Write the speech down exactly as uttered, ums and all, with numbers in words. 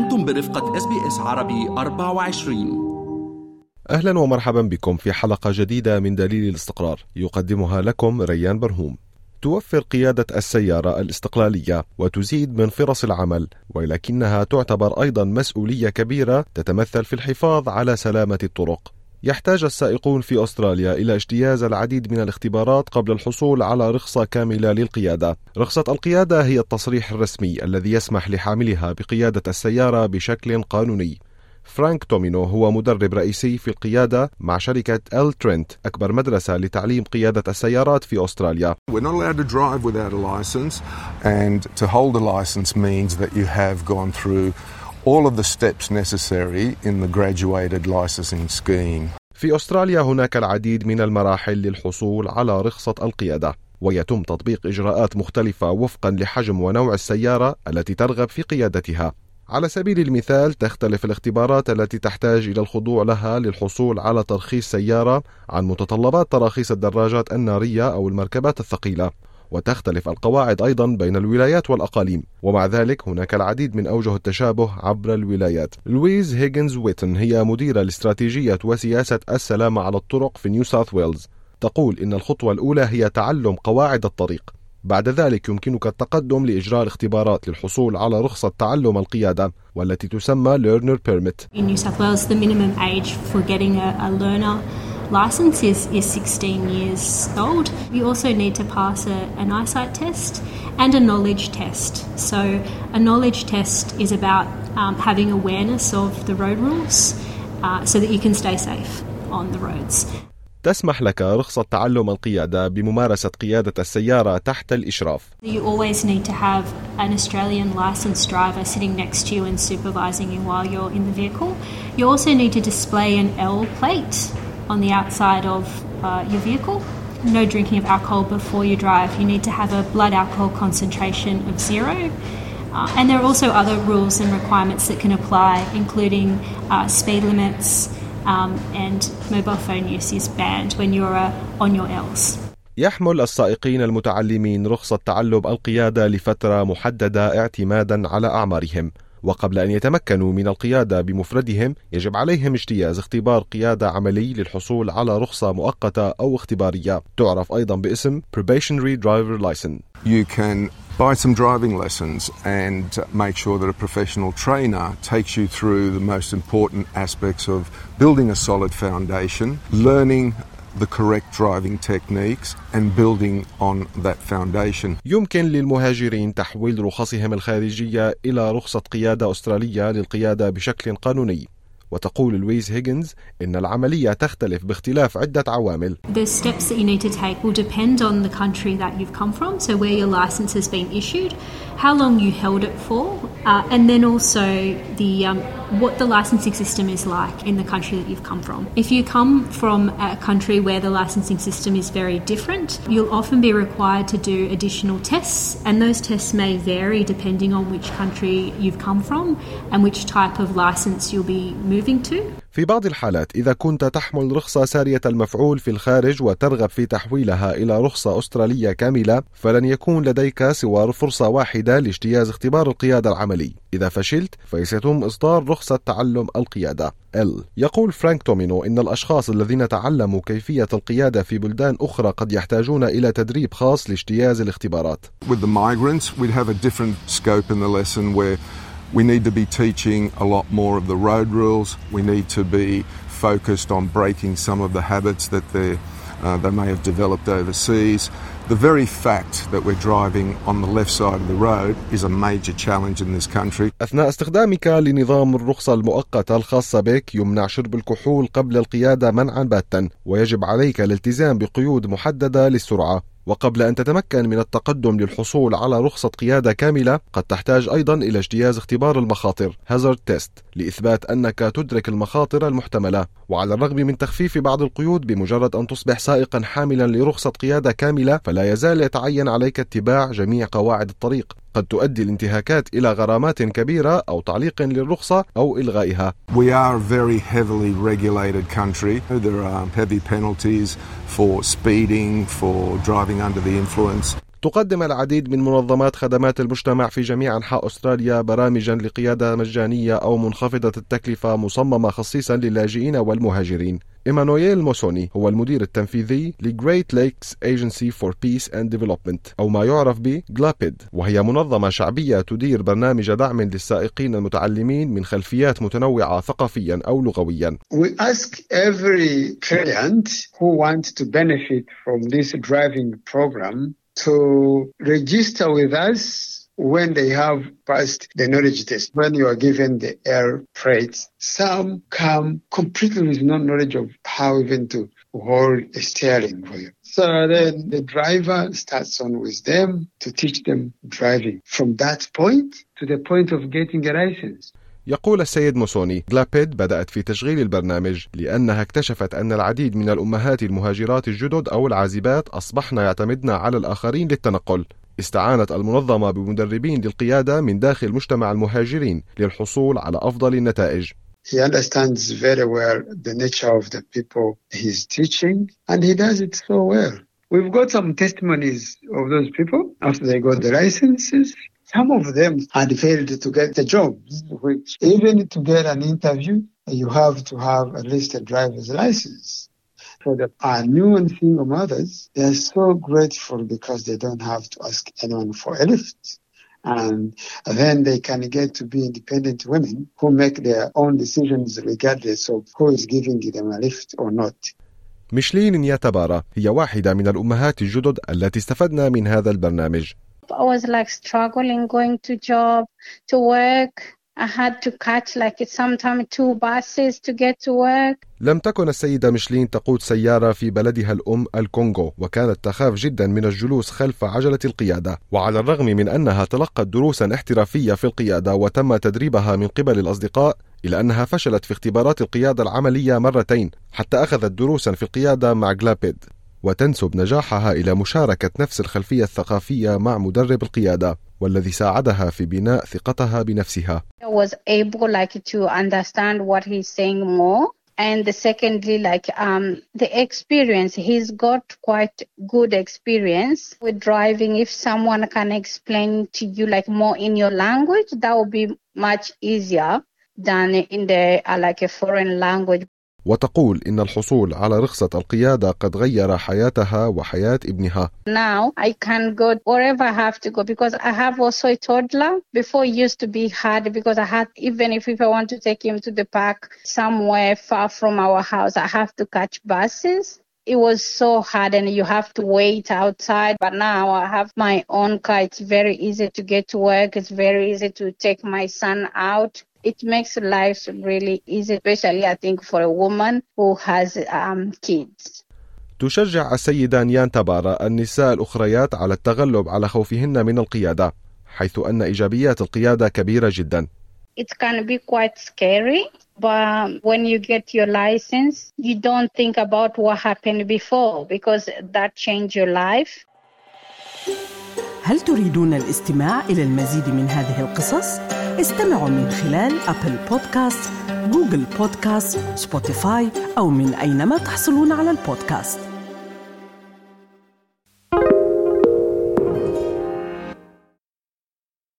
أنتم برفقة إس بي إس عربي أربعة وعشرين. أهلا ومرحبا بكم في حلقة جديدة من دليل الاستقرار، يقدمها لكم ريان برهوم. توفر قيادة السيارة الاستقلالية وتزيد من فرص العمل، ولكنها تعتبر أيضا مسؤولية كبيرة تتمثل في الحفاظ على سلامة الطرق. يحتاج السائقون في أستراليا إلى اجتياز العديد من الاختبارات قبل الحصول على رخصة كاملة للقيادة. رخصة القيادة هي التصريح الرسمي الذي يسمح لحاملها بقيادة السيارة بشكل قانوني. فرانك تومينو هو مدرب رئيسي في القيادة مع شركة إل ترينت، أكبر مدرسة لتعليم قيادة السيارات في أستراليا. We're not allowed to drive without a license, and to hold a license means that you have gone through all of the steps necessary in the graduated licensing scheme. في أستراليا هناك العديد من المراحل للحصول على رخصة القيادة، ويتم تطبيق إجراءات مختلفة وفقا لحجم ونوع السيارة التي ترغب في قيادتها. على سبيل المثال، تختلف الاختبارات التي تحتاج إلى الخضوع لها للحصول على ترخيص سيارة عن متطلبات تراخيص الدراجات النارية أو المركبات الثقيلة، وتختلف القواعد أيضا بين الولايات والأقاليم، ومع ذلك هناك العديد من أوجه التشابه عبر الولايات. لويز هيغنز ويتن هي مديرة لاستراتيجية وسياسة السلامة على الطرق في نيو ساوث ويلز، تقول إن الخطوة الأولى هي تعلم قواعد الطريق. بعد ذلك يمكنك التقدم لإجراء الاختبارات للحصول على رخصة تعلم القيادة، والتي تسمى Learner Permit. In New South Wales, the minimum age for getting a, a learner license is, is sixteen years old. You also need to pass a, an eyesight test and a knowledge test. So a knowledge test is about um, having awareness of the road rules uh, so that you can stay safe on the roads. تسمح لك رخصة تعلم القيادة بممارسة قيادة السيارة تحت الإشراف. You always need to have an Australian licensed driver sitting next to you and supervising you while you're in the vehicle. You also need to display an L plate on the outside of uh, your vehicle. No drinking of alcohol before you drive. You need to have a blood alcohol concentration of zero. Uh, and there are also other rules and requirements that can apply, including uh, speed limits, Um, and mobile phone use is banned when you're uh, on your L's. يحمل السائقين المتعلمين رخصة تعلم القيادة لفترة محددة اعتمادا على أعمارهم، وقبل أن يتمكنوا من القيادة بمفردهم يجب عليهم اجتياز اختبار قيادة عملي للحصول على رخصة مؤقتة أو اختبارية، تعرف أيضا باسم Probationary Driver License. You can buy some driving lessons and make sure that a professional trainer takes you through the most important aspects of building a solid foundation, learning the correct driving techniques and building on that foundation. يمكن للمهاجرين تحويل رخصهم الخارجية إلى رخصة قيادة أسترالية للقيادة بشكل قانوني. وتقول لويز هيغنز إن العملية تختلف باختلاف عدة عوامل. The steps that you need to take will depend on the country that you've come from, so where your license has been issued, how long you held it for, uh, and then also the um, what the licensing system is like in the country that you've come from. If you come from a country where the licensing system is very different, you'll often be required to do additional tests, and those tests may vary depending on which country you've come from and which type of license you'll be moving to. في بعض الحالات إذا كنت تحمل رخصة سارية المفعول في الخارج وترغب في تحويلها إلى رخصة أسترالية كاملة، فلن يكون لديك سوى فرصة واحدة لاجتياز اختبار القيادة العملي. إذا فشلت فسيتم إصدار رخصة تعلم القيادة L. يقول فرانك تومينو إن الأشخاص الذين تعلموا كيفية القيادة في بلدان أخرى قد يحتاجون إلى تدريب خاص لاجتياز الاختبارات. With the migrants, we'd have a different scope in the lesson where we need to be teaching a lot more of the road rules. We need to be focused on breaking some of the habits that they uh, they may have developed overseas. The very fact that we're driving on the left side of the road is a major challenge in this country. أثناء استخدامك لنظام الرخصة المؤقتة الخاصة بك يمنع شرب الكحول قبل القيادة منعا باتا، ويجب عليك الالتزام بقيود محددة للسرعة. وقبل أن تتمكن من التقدم للحصول على رخصة قيادة كاملة قد تحتاج أيضا إلى اجتياز اختبار المخاطر Hazard Test لإثبات أنك تدرك المخاطر المحتملة. وعلى الرغم من تخفيف بعض القيود بمجرد أن تصبح سائقا حاملا لرخصة قيادة كاملة، فلا يزال يتعين عليك اتباع جميع قواعد الطريق. قد تؤدي الانتهاكات إلى غرامات كبيرة أو تعليق للرخصة أو إلغائها. We are a very heavily regulated country. There are heavy penalties for speeding, for driving under the influence. تقدم العديد من منظمات خدمات المجتمع في جميع أنحاء أستراليا برامجا لقيادة مجانية أو منخفضة التكلفة مصممة خصيصا للاجئين والمهاجرين. إيمانويل موسوني هو المدير التنفيذي لGreat Lakes Agency for Peace and Development أو ما يعرف ب جلابيد، وهي منظمة شعبية تدير برنامج دعم للسائقين المتعلمين من خلفيات متنوعة ثقافيا أو لغويا. We ask every client who wants to benefit from this driving program to register with us when they have passed the knowledge test. When you are given the air freight, some come completely with no knowledge of how even to hold a steering wheel. So then the driver starts on with them to teach them driving from that point to the point of getting a license. يقول السيد موسوني جلابيد بدأت في تشغيل البرنامج لأنها اكتشفت أن العديد من الأمهات المهاجرات الجدد أو العازبات أصبحن يعتمدن على الآخرين للتنقل. استعانت المنظمة بمدربين للقيادة من داخل مجتمع المهاجرين للحصول على أفضل النتائج. He understands very well the nature of the people he's teaching and he does it so well. We've got some testimonies of those people after they got the licenses. Some of them had failed to get the jobs, which even to get an interview, you have to have at least a driver's license. So that our new and single mothers, they are so grateful because they don't have to ask anyone for a lift. And then they can get to be independent women who make their own decisions regardless of who is giving them a lift or not. ميشلين نياتابارا هي واحدة من الأمهات الجدد التي استفدنا من هذا البرنامج. I was like struggling going to job, to work. I had to catch like sometimes two buses to get to work. لم تكن السيدة ميشلين تقود سيارة في بلدها الأم الكونغو، وكانت تخاف جدا من الجلوس خلف عجلة القيادة، وعلى الرغم من أنها تلقت دروسا احترافية في القيادة وتم تدريبها من قبل الأصدقاء، إلا أنها فشلت في اختبارات القيادة العملية مرتين حتى أخذت دروسا في القيادة مع جلابيد، وتنسب نجاحها إلى مشاركة نفس الخلفية الثقافية مع مدرب القيادة والذي ساعدها في بناء ثقتها بنفسها. I was able like to understand what he's saying more, and secondly like um the experience, he's got quite good experience with driving. If someone can explain to you like more in your language, that would be much easier than in the uh, like a foreign language. وتقول إن الحصول على رخصة القيادة قد غير حياتها وحياة ابنها. Now I can go wherever I have to go because I have also a toddler. Before it used to be hard because I had, even if, if I want to take him to the park somewhere far from our house, I have to catch buses. It was so hard and you have to wait outside. But now I have my own car. It's very easy to get to work. It's very easy to take my son out. It makes life really easy, especially I think for a woman who has um, kids. تشجع السيدة نياتابارا النساء الأخريات على التغلب على خوفهن من القيادة، حيث أن إيجابيات القيادة كبيرة جدا. It can be quite scary, but when you get your license, you don't think about what happened before because that changed your life. هل تريدون الاستماع إلى المزيد من هذه القصص؟ استمعوا من خلال أبل بودكاست، جوجل بودكاست، سبوتيفاي أو من أينما تحصلون على البودكاست.